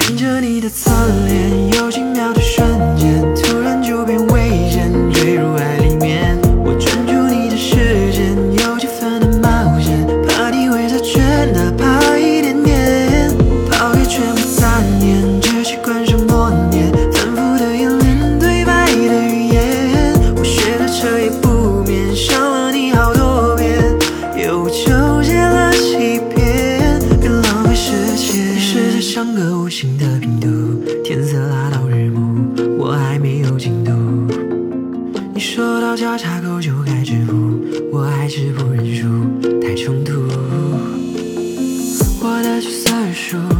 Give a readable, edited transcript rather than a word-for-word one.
看着你的侧脸，有几秒的瞬间，突然就变危险，坠入爱里面。我专注你的时间，有几分的冒险，怕你会再圈，哪怕一点点。抛开全部残念，只习惯上默念，反复的演练对白的语言。我学的彻夜不眠，想了你好多遍，又纠结了几遍，别浪费时间。你实在像个无形的病毒，天色拉到日暮，我还没有进度。你说到交叉口就该止步，我还是不认输，太冲突。我的角色数